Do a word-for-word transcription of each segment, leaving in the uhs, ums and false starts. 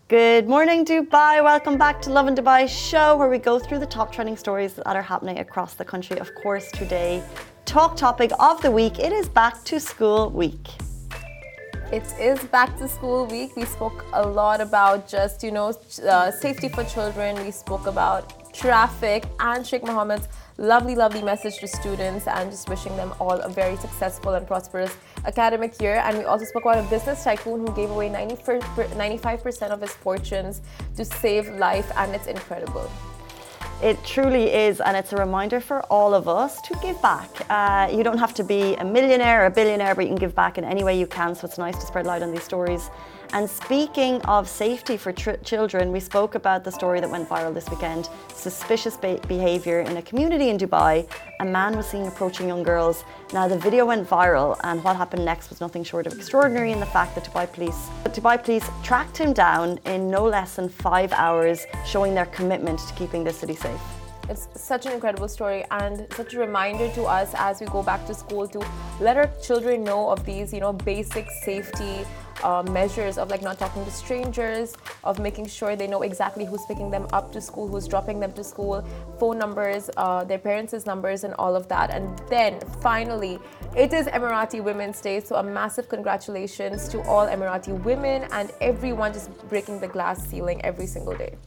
Good morning, Dubai. Welcome back to Lovin Dubai show, where we go through the top trending stories that are happening across the country. Of course, today, talk topic of the week, it is back to school week. It is back to school week. We spoke a lot about just, you know, uh, safety for children. We spoke about traffic and Sheikh Mohammed's lovely, lovely message to students and just wishing them all a very successful and prosperous academic year. And we also spoke about a business tycoon who gave away ninety-five percent of his fortunes to save life, and it's incredible. It truly is, and it's a reminder for all of us to give back. Uh, you don't have to be a millionaire or a billionaire, but you can give back in any way you can, so it's nice to spread light on these stories. And speaking of safety for tr- children, we spoke about the story that went viral this weekend. Suspicious be- behaviour in a community in Dubai. A man was seen approaching young girls. Now, the video went viral, and what happened next was nothing short of extraordinary in the fact that Dubai police, that Dubai police tracked him down in no less than five hours, showing their commitment to keeping the city safe. It's such an incredible story and such a reminder to us as we go back to school to let our children know of these, you know, basic safety uh, measures of like not talking to strangers, of making sure they know exactly who's picking them up to school, who's dropping them to school, phone numbers, uh, their parents' numbers and all of that. And then finally, it is Emirati Women's Day, so a massive congratulations to all Emirati women and everyone just breaking the glass ceiling every single day.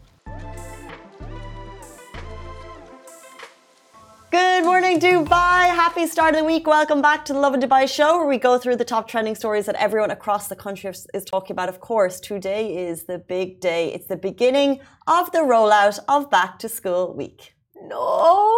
Good morning, Dubai. Happy start of the week. Welcome back to the Lovin Dubai show, where we go through the top trending stories that everyone across the country is talking about. Of course, today is the big day. It's the beginning of the rollout of back to school week. No,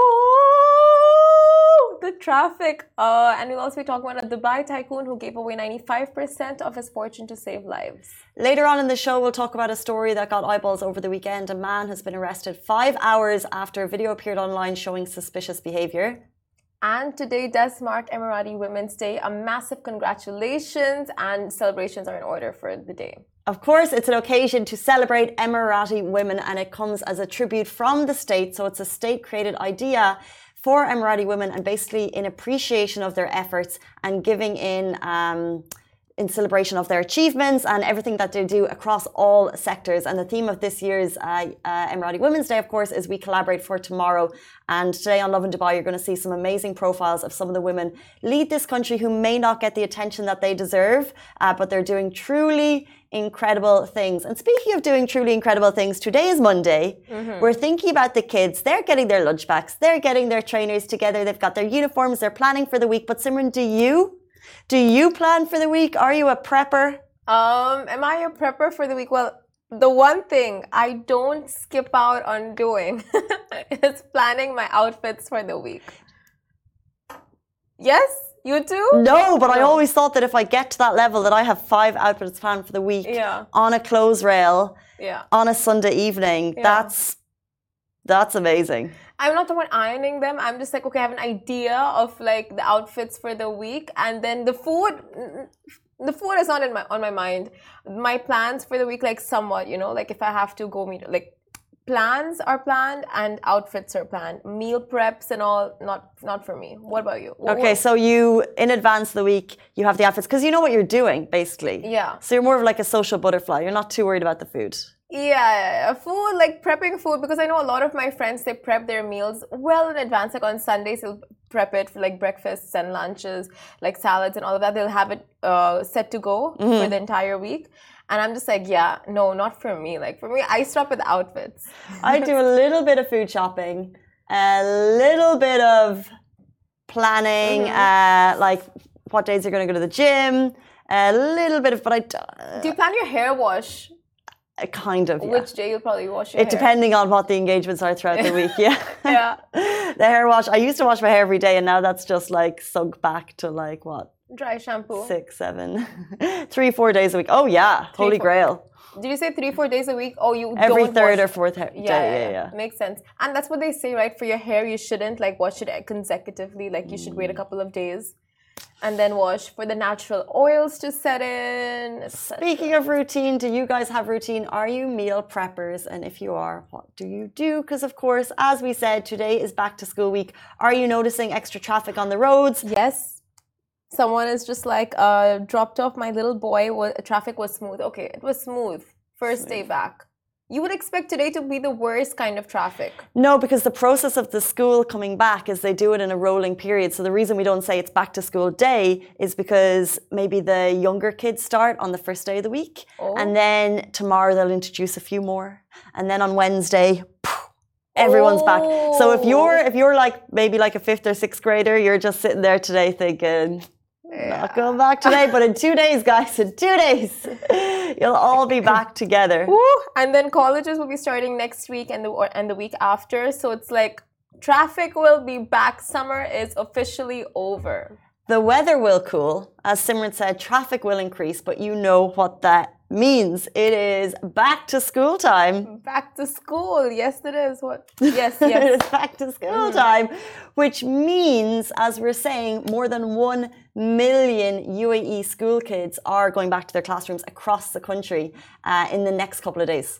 the traffic. Uh, and we'll also be talking about a Dubai tycoon who gave away ninety-five percent of his fortune to save lives. Later on in the show, we'll talk about a story that got eyeballs over the weekend. A man has been arrested five hours after a video appeared online showing suspicious behaviour. And today does mark Emirati Women's Day. A massive congratulations and celebrations are in order for the day. Of course, it's an occasion to celebrate Emirati women, and it comes as a tribute from the state. So it's a state-created idea for Emirati women, and basically in appreciation of their efforts and giving in um, in celebration of their achievements and everything that they do across all sectors. And the theme of this year's uh, uh, Emirati Women's Day, of course, is We Collaborate for Tomorrow. And today on Lovin Dubai, you're going to see some amazing profiles of some of the women lead this country who may not get the attention that they deserve, uh, but they're doing truly incredible things. And speaking of doing truly incredible things, today is Monday. Mm-hmm. We're thinking about the kids. They're getting their lunch packs. They're getting their trainers together. They've got their uniforms. They're planning for the week. But Simran, do you? Do you plan for the week? Are you a prepper? Um, am I a prepper for the week? Well, the one thing I don't skip out on doing is planning my outfits for the week. Yes? You too? No, but no. I always thought that if I get to that level that I have five outfits planned for the week, yeah, on a clothes rail, yeah, on a Sunday evening, yeah, that's that's amazing. I'm not the one ironing them. I'm just like, okay, I have an idea of like the outfits for the week, and then the food, the food is not in my on my mind. My plans for the week, like somewhat, you know, like if I have to go meet, like plans are planned and outfits are planned. Meal preps and all, not not for me. What about you? What, okay, what? so you, in advance of the week, you have the outfits because you know what you're doing, basically. Yeah. So you're more of like a social butterfly. You're not too worried about the food. Yeah, food, like prepping food, because I know a lot of my friends, they prep their meals well in advance. Like on Sundays, they'll prep it for like breakfasts and lunches, like salads and all of that. They'll have it uh, set to go mm-hmm. for the entire week. And I'm just like, yeah, no, not for me. Like for me, I stop with the outfits. I do a little bit of food shopping, a little bit of planning, mm-hmm. uh, like what days you're going to go to the gym, a little bit of, but I... Uh, do you plan your hair wash? Uh, kind of, yeah. Which day you'll probably wash your it hair? Depending on what the engagements are throughout the week, yeah. Yeah. The hair wash, I used to wash my hair every day, and now that's just like sunk back to like what? Dry shampoo. Six, seven, three, four days a week. Oh yeah, three, holy four. Grail. Did you say three, four days a week? Oh, you every don't third wash... or fourth hair yeah, day. Yeah, yeah, yeah, yeah. Makes sense. And that's what they say, right? For your hair, you shouldn't like wash it consecutively. Like you should wait a couple of days and then wash for the natural oils to set in. Speaking of routine, do you guys have routine? Are you meal preppers? And if you are, what do you do? Because of course, as we said, today is back to school week. Are you noticing extra traffic on the roads? Yes. Someone is just like, uh, dropped off my little boy. Traffic was smooth. Okay, it was smooth first day back. You would expect today to be the worst kind of traffic. No, because the process of the school coming back is they do it in a rolling period. So the reason we don't say it's back to school day is because maybe the younger kids start on the first day of the week. Oh. And then tomorrow they'll introduce a few more. And then on Wednesday, poof, everyone's oh. back. So if you're if you're like maybe like a fifth or sixth grader, you're just sitting there today thinking, yeah. Not going back today, but in two days, guys, in two days, you'll all be back together. Woo. And then colleges will be starting next week and the or, and the week after. So it's like traffic will be back. Summer is officially over. The weather will cool. As Simran said, traffic will increase, but you know what that means. It is back to school time. Back to school. Yes, it is. What? Yes, yes. It is back to school mm-hmm. time, which means, as we're saying, more than one million U A E school kids are going back to their classrooms across the country uh, in the next couple of days.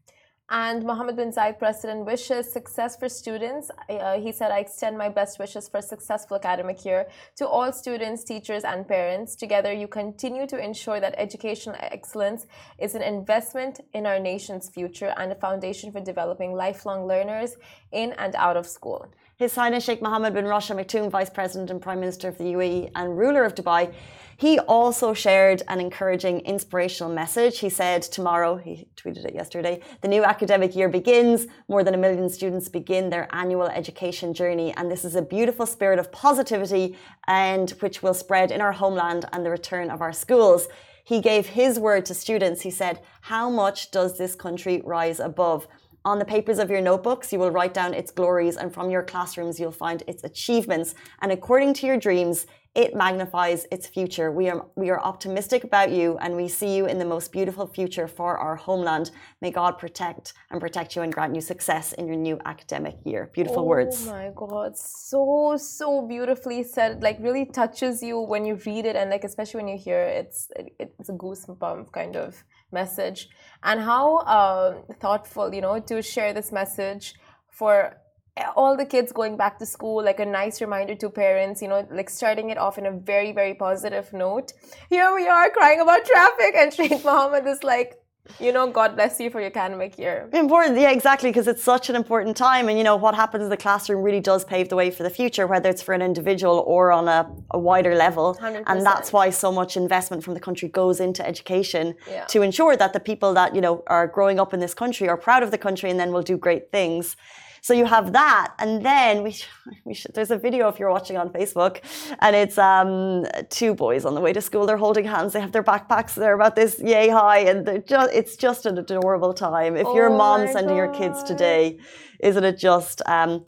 And Mohammed bin Zayed, President, wishes success for students. Uh, he said, I extend my best wishes for a successful academic year to all students, teachers, and parents. Together, you continue to ensure that educational excellence is an investment in our nation's future and a foundation for developing lifelong learners in and out of school. His Highness Sheikh Mohammed bin Rashid Al Maktoum, Vice President and Prime Minister of the U A E and ruler of Dubai, he also shared an encouraging, inspirational message. He said tomorrow, he tweeted it yesterday, the new academic year begins. More than a million students begin their annual education journey. And this is a beautiful spirit of positivity and which will spread in our homeland and the return of our schools. He gave his word to students. He said, how much does this country rise above? On the papers of your notebooks, you will write down its glories, and from your classrooms, you'll find its achievements. And according to your dreams, it magnifies its future. We are, we are optimistic about you, and we see you in the most beautiful future for our homeland. May God protect and protect you and grant you success in your new academic year. Beautiful oh words. Oh my God, so, so beautifully said. Like really touches you when you read it, and like especially when you hear it, it's, it, it's a goosebump kind of message. And how uh, thoughtful, you know, to share this message for all the kids going back to school, like a nice reminder to parents, you know, like starting it off in a very, very positive note. Here we are crying about traffic, and Sheikh Mohammed is like, you know, God bless you for your academic year. Important, yeah, exactly, because it's such an important time. And, you know, what happens in the classroom really does pave the way for the future, whether it's for an individual or on a, a wider level. one hundred percent. And that's why so much investment from the country goes into education yeah. to ensure that the people that, you know, are growing up in this country are proud of the country and then will do great things. So you have that, and then we, we should, there's a video if you're watching on Facebook, and it's um, two boys on the way to school. They're holding hands. They have their backpacks. They're about this yay high, and they're just, it's just an adorable time. If oh you're a mom sending God. your kids today, isn't it just? Um,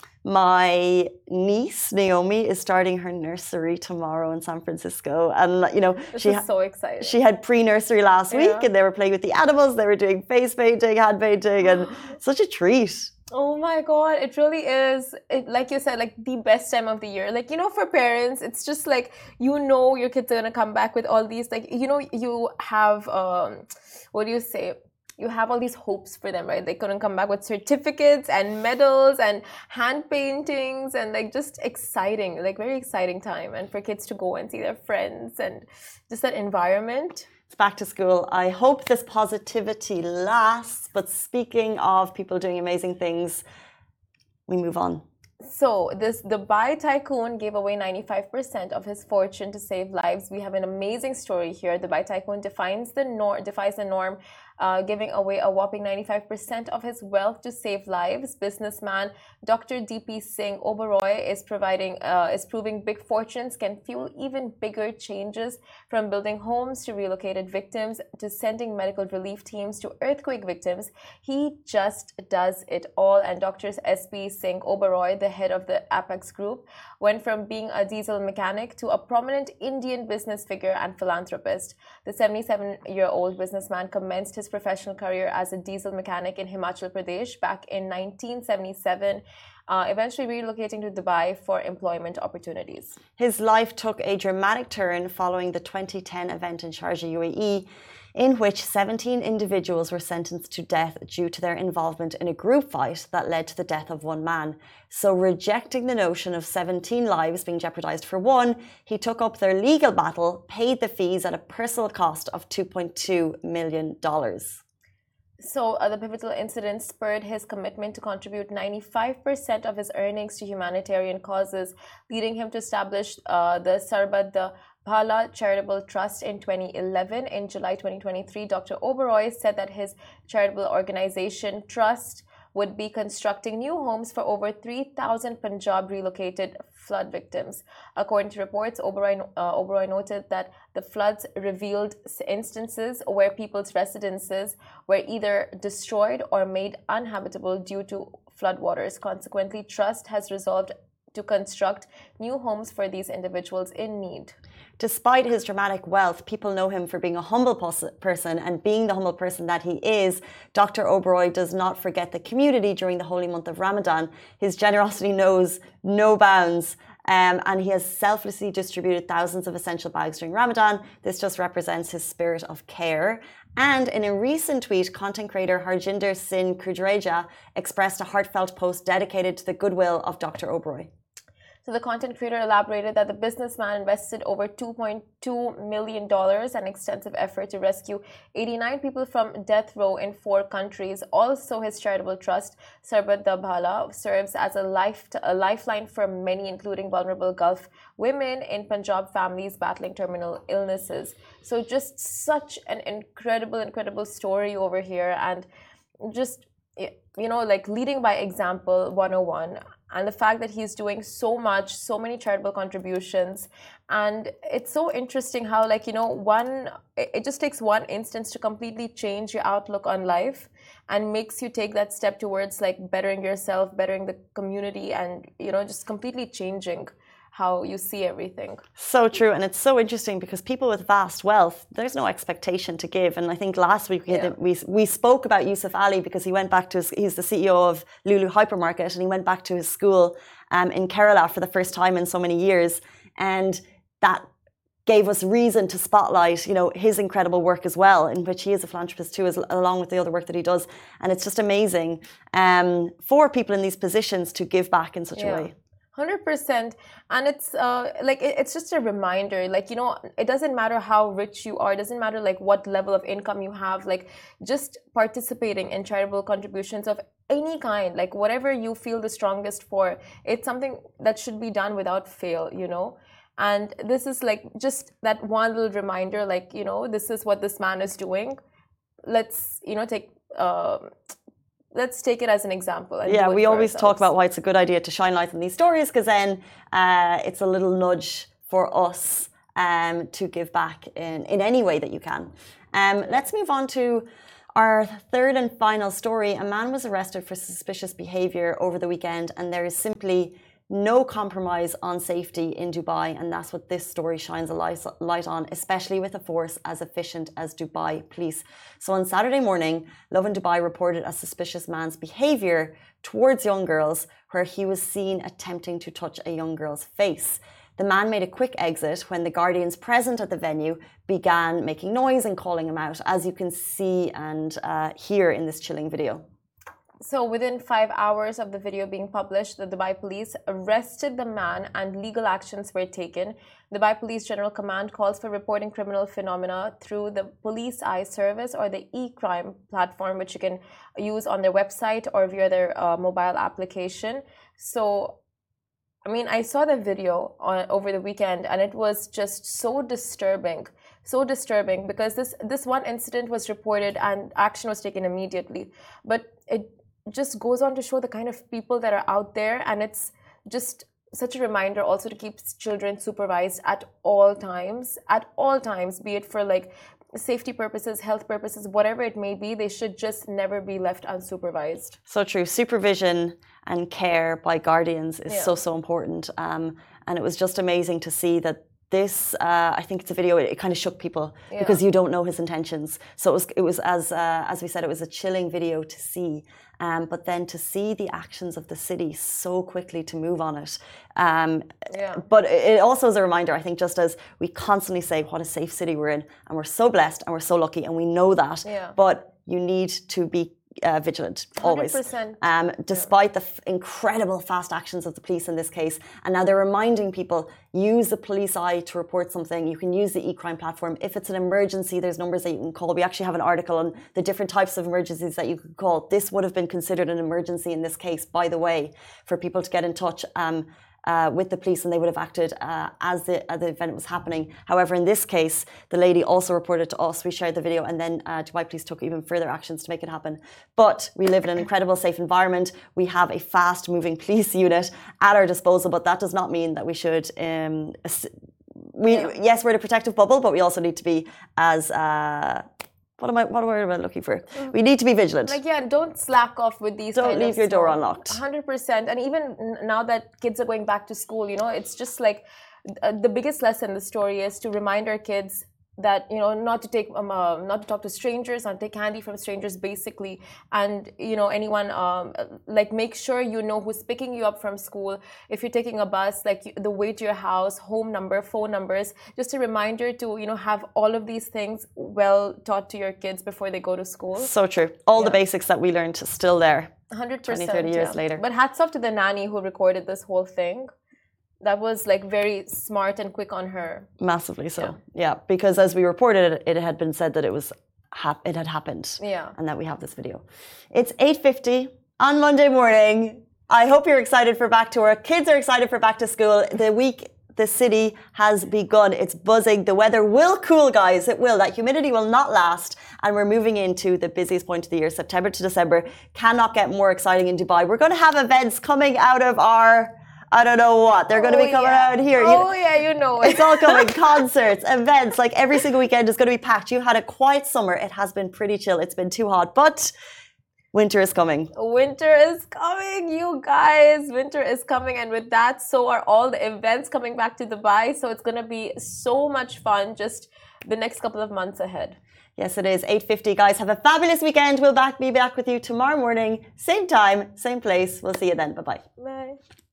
my niece Naomi is starting her nursery tomorrow in San Francisco, and you know this she is so excited. She had pre-nursery last yeah. week, and they were playing with the animals. They were doing face painting, hand painting, and such a treat. Oh my God, it really is, it, like you said, like the best time of the year. Like, you know, for parents, it's just like, you know, your kids are going to come back with all these, like, you know, you have, um, what do you say? You have all these hopes for them, right? They couldn't come back with certificates and medals and hand paintings and like just exciting, like very exciting time. And for kids to go and see their friends and just that environment. It's back to school. I hope this positivity lasts. But speaking of people doing amazing things, we move on. So this Dubai tycoon gave away ninety-five percent of his fortune to save lives. We have an amazing story here. Dubai tycoon defines the norm, defies the norm, uh, giving away a whopping ninety-five percent of his wealth to save lives. Businessman Doctor D P Singh Oberoi is providing, uh, is proving big fortunes can fuel even bigger changes, from building homes to relocated victims to sending medical relief teams to earthquake victims. He just does it all. And Doctor S P Singh Oberoi, the head of the Apex Group, went from being a diesel mechanic to a prominent Indian business figure and philanthropist. The seventy-seven-year-old businessman commenced his professional career as a diesel mechanic in Himachal Pradesh back in nineteen seventy-seven, uh, eventually relocating to Dubai for employment opportunities. His life took a dramatic turn following the twenty ten event in Sharjah, U A E, in which seventeen individuals were sentenced to death due to their involvement in a group fight that led to the death of one man. So, rejecting the notion of seventeen lives being jeopardized for one, he took up their legal battle, paid the fees at a personal cost of two point two million dollars. So, uh, the pivotal incident spurred his commitment to contribute ninety-five percent of his earnings to humanitarian causes, leading him to establish uh, the Sarbat the Bhala Charitable Trust in twenty eleven. In July twenty twenty-three, Doctor Oberoi said that his charitable organization, Trust, would be constructing new homes for over three thousand Punjab relocated flood victims. According to reports, Oberoi, uh, Oberoi noted that the floods revealed instances where people's residences were either destroyed or made uninhabitable due to floodwaters. Consequently, Trust has resolved to construct new homes for these individuals in need. Despite his dramatic wealth, people know him for being a humble person, and being the humble person that he is, Doctor Oberoi does not forget the community during the holy month of Ramadan. His generosity knows no bounds, um, and he has selflessly distributed thousands of essential bags during Ramadan. This just represents his spirit of care. And in a recent tweet, content creator Harjinder Singh Kudreja expressed a heartfelt post dedicated to the goodwill of Doctor Oberoi. So the content creator elaborated that the businessman invested over two point two million dollars and extensive effort to rescue eighty-nine people from death row in four countries. Also, his charitable trust, Sarbat da Bhala, serves as a, life a lifeline for many, including vulnerable Gulf women in Punjab families battling terminal illnesses. So just such an incredible, incredible story over here, and just, you know, like leading by example one oh one. And the fact that he's doing so much, so many charitable contributions. And it's so interesting how, like, you know, one, it just takes one instance to completely change your outlook on life and makes you take that step towards, like, bettering yourself, bettering the community, and, you know, just completely changing how you see everything. So true. And it's so interesting because people with vast wealth, there's no expectation to give. And I think last week we, yeah. had, we, we spoke about Yusuf Ali because he went back to his, he's the C E O of Lulu Hypermarket, and he went back to his school um, in Kerala for the first time in so many years. And that gave us reason to spotlight, you know, his incredible work as well, in which he is a philanthropist too, as, along with the other work that he does. And it's just amazing um, for people in these positions to give back in such yeah. a way. one hundred percent. And it's uh, like it, it's just a reminder, like, you know, it doesn't matter how rich you are, it doesn't matter like what level of income you have, like just participating in charitable contributions of any kind, like whatever you feel the strongest for, it's something that should be done without fail, you know. And this is like just that one little reminder, like, you know, this is what this man is doing. Let's, you know, take uh, let's take it as an example. And yeah, we always ourselves. talk about why it's a good idea to shine light on these stories, because then uh, it's a little nudge for us um, to give back in, in any way that you can. Um, let's move on to our third and final story. A man was arrested for suspicious behaviour over the weekend, and there is simply no compromise on safety in Dubai, and that's what this story shines a light on, especially with a force as efficient as Dubai police. So on Saturday morning, Lovin Dubai reported a suspicious man's behaviour towards young girls, where he was seen attempting to touch a young girl's face. The man made a quick exit when the guardians present at the venue began making noise and calling him out, as you can see and uh, hear in this chilling video. So within five hours of the video being published, the Dubai police arrested the man and legal actions were taken. Dubai Police General Command calls for reporting criminal phenomena through the Police Eye service or the e-crime platform, which you can use on their website or via their uh, mobile application. So, I mean, I saw the video on, over the weekend, and it was just so disturbing. So disturbing because this, this one incident was reported and action was taken immediately. But it just goes on to show the kind of people that are out there, and it's just such a reminder also to keep children supervised at all times, at all times, be it for like safety purposes, health purposes, whatever it may be, they should just never be left unsupervised. So true. Supervision and care by guardians is yeah. so, so important. Um, and it was just amazing to see that this, uh, I think it's a video, it, it kind of shook people yeah. because you don't know his intentions. So it was, it was as uh, as we said, it was a chilling video to see. Um, but then to see the actions of the city so quickly to move on it. Um, yeah. But it also is a reminder, I think, just as we constantly say what a safe city we're in, and we're so blessed and we're so lucky, and we know that. Yeah. But you need to be uh, vigilant, always. one hundred percent. Um, despite the f- incredible fast actions of the police in this case. And now they're reminding people, use the police eye to report something. You can use the e-crime platform. If it's an emergency, there's numbers that you can call. We actually have an article on the different types of emergencies that you could call. This would have been considered an emergency in this case, by the way, for people to get in touch um, uh, with the police, and they would have acted uh, as, the, as the event was happening. However, in this case, the lady also reported to us. We shared the video, and then uh, Dubai Police took even further actions to make it happen. But we live in an incredible, safe environment. We have a fast-moving police unit at our disposal, but that does not mean that we should... Um, we yeah. Yes, we're in a protective bubble, but we also need to be as... Uh, What am I? What word am I looking for? We need to be vigilant. Like, yeah, don't slack off with these. Don't kind leave of your door small, unlocked. one hundred percent. And even now that kids are going back to school, you know, it's just like uh, the biggest lesson in the story is to remind our kids that, you know, not to take, um, uh, not to talk to strangers, not to take candy from strangers, basically. And, you know, anyone, um, like, make sure you know who's picking you up from school. If you're taking a bus, like, the way to your house, home number, phone numbers, just a reminder to, you know, have all of these things well taught to your kids before they go to school. So true. All yeah. the basics that we learned still there. one hundred percent. twenty, thirty years yeah. later. But hats off to the nanny who recorded this whole thing. That was like very smart and quick on her. Massively so. Yeah, yeah because as we reported it, it had been said that it was hap- it had happened. Yeah. And that we have this video. It's eight fifty on Monday morning. I hope you're excited for back to work. Kids are excited for back to school. The week, the city has begun. It's buzzing. The weather will cool, guys. It will. That humidity will not last. And we're moving into the busiest point of the year. September to December cannot get more exciting in Dubai. We're going to have events coming out of our... I don't know what. They're going to be oh, coming yeah. out here. Oh, you, yeah, you know it. It's all coming. Concerts, events, like every single weekend is going to be packed. You had a quiet summer. It has been pretty chill. It's been too hot, but winter is coming. Winter is coming, you guys. Winter is coming. And with that, so are all the events coming back to Dubai. So it's going to be so much fun just the next couple of months ahead. Yes, it is. eight fifty, guys. Have a fabulous weekend. We'll back, be back with you tomorrow morning. Same time, same place. We'll see you then. Bye-bye. Bye.